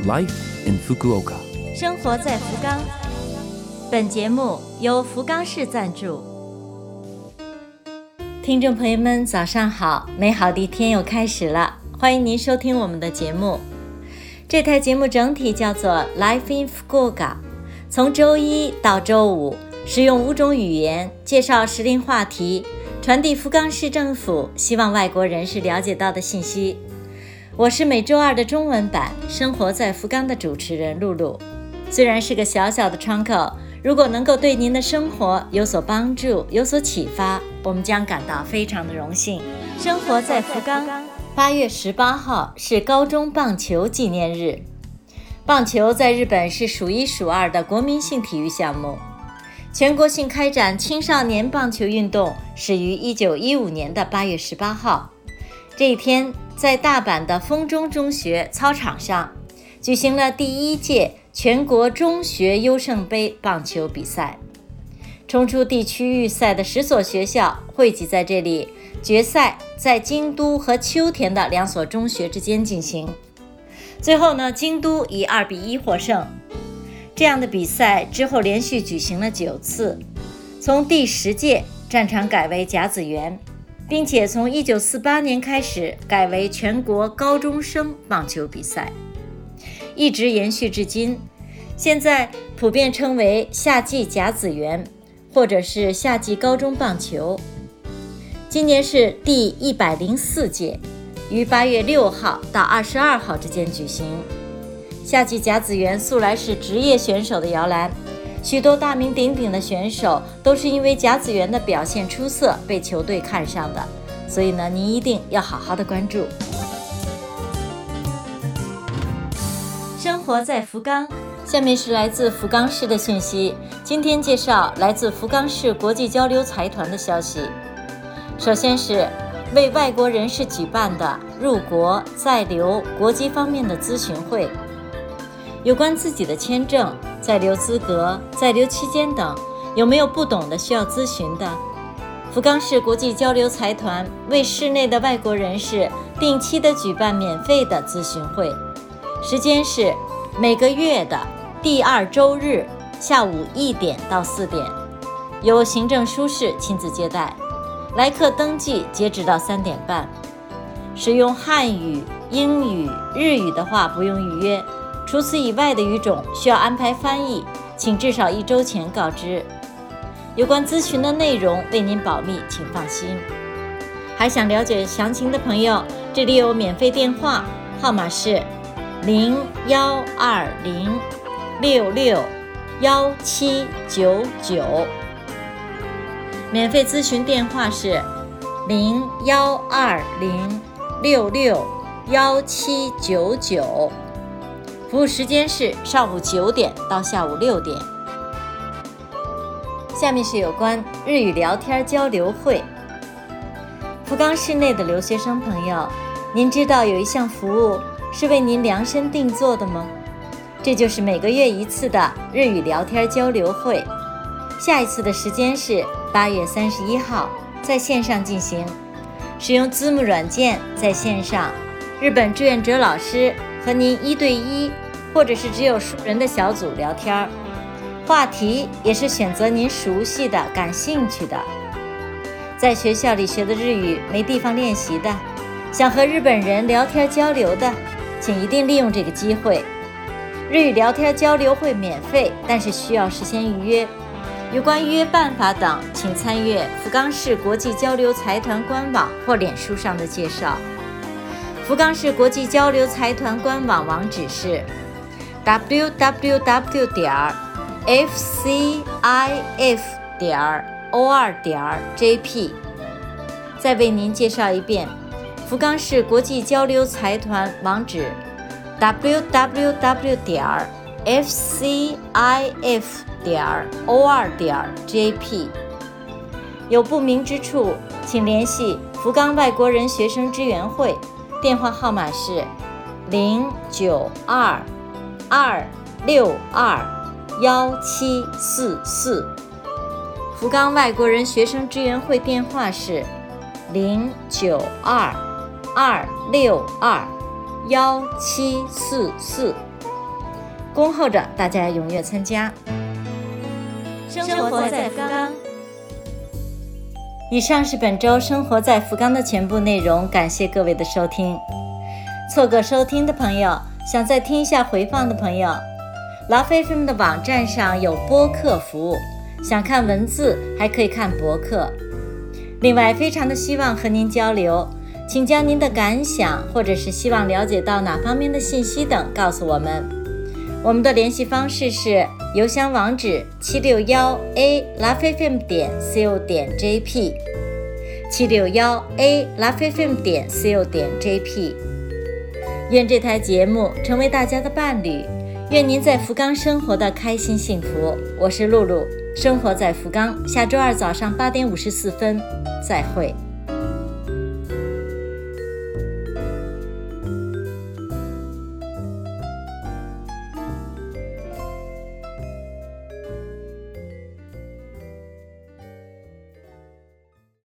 Life in Fukuoka， 生活在福冈。本节目由福冈市赞助。听众朋友们，早上好！美好的一天又开始了，欢迎您收听我们的节目。这台节目整体叫做 Life in Fukuoka， 从周一到周五，使用5种语言介绍时令话题，传递福冈市政府希望外国人士了解到的信息。我是每周二的中文版生活在福冈的主持人露露。虽然是个小小的窗口，如果能够对您的生活有所帮助，有所启发，我们将感到非常的荣幸。生活在福冈，8月18号是高中棒球纪念日。棒球在日本是数一数二的国民性体育项目。全国性开展青少年棒球运动始于1915年的8月18号。这一天，在大阪的丰中中学操场上举行了第1届全国中学优胜杯棒球比赛。冲出地区预赛的10所学校汇集在这里，决赛在京都和秋田的2所中学之间进行。最后呢，京都以2-1获胜。这样的比赛之后连续举行了9次，从第10届战场改为甲子园，并且从1948年开始改为全国高中生棒球比赛，一直延续至今。现在普遍称为夏季甲子园，或者是夏季高中棒球。今年是第104届，于8月6号到22号之间举行。夏季甲子园素来是职业选手的摇篮，许多大名鼎鼎的选手都是因为甲子园的表现出色被球队看上的，所以呢，您一定要好好的关注。生活在福冈，下面是来自福冈市的讯息。今天介绍来自福冈市国际交流财团的消息。首先是为外国人士举办的入国、在留、国籍方面的咨询会。有关自己的签证、在留资格、在留期间等，有没有不懂的需要咨询的？福冈市国际交流财团为市内的外国人士定期的举办免费的咨询会，时间是每个月的第2周日下午1点到4点，由行政书士亲自接待，来客登记截止到3点半。使用汉语、英语、日语的话不用预约，除此以外的语种需要安排翻译，请至少1周前告知。有关咨询的内容为您保密，请放心。还想了解详情的朋友，这里有免费电话，号码是0120661799，免费咨询电话是0120661799，服务时间是上午9点到下午6点。下面是有关日语聊天交流会。福冈市内的留学生朋友，您知道有一项服务是为您量身定做的吗？这就是每个月1次的日语聊天交流会。下一次的时间是8月31号，在线上进行，使用Zoom软件在线上，日本志愿者老师和您1对1，或者是只有熟人的小组聊天，话题也是选择您熟悉的、感兴趣的。在学校里学的日语没地方练习的，想和日本人聊天交流的，请一定利用这个机会。日语聊天交流会免费，但是需要事先预约。有关预约办法等，请参阅福冈市国际交流财团官网或脸书上的介绍。福冈市国际交流财团官网网址是 www.fcif.or.jp。 再为您介绍一遍福冈市国际交流财团网址 www.fcif.or.jp。 有不明之处，请联系福冈外国人学生支援会，电话号码是0922621744。福冈外国人学生支援会电话是0922621744。 恭候着大家踊跃参加。 生活在福冈。 以上是本周生活在福冈的全部内容，感谢各位的收听。错过收听的朋友，想再听一下回放的朋友，Love FM 的网站上有播客服务，想看文字还可以看博客。另外非常的希望和您交流，请将您的感想或者是希望了解到哪方面的信息等告诉我们。我们的联系方式是邮箱网址761a lovefm.co.jp761a lovefm.co.jp。 愿这台节目成为大家的伴侣，愿您在福冈生活的开心幸福。我是露露，生活在福冈，下周二早上8点54分再会。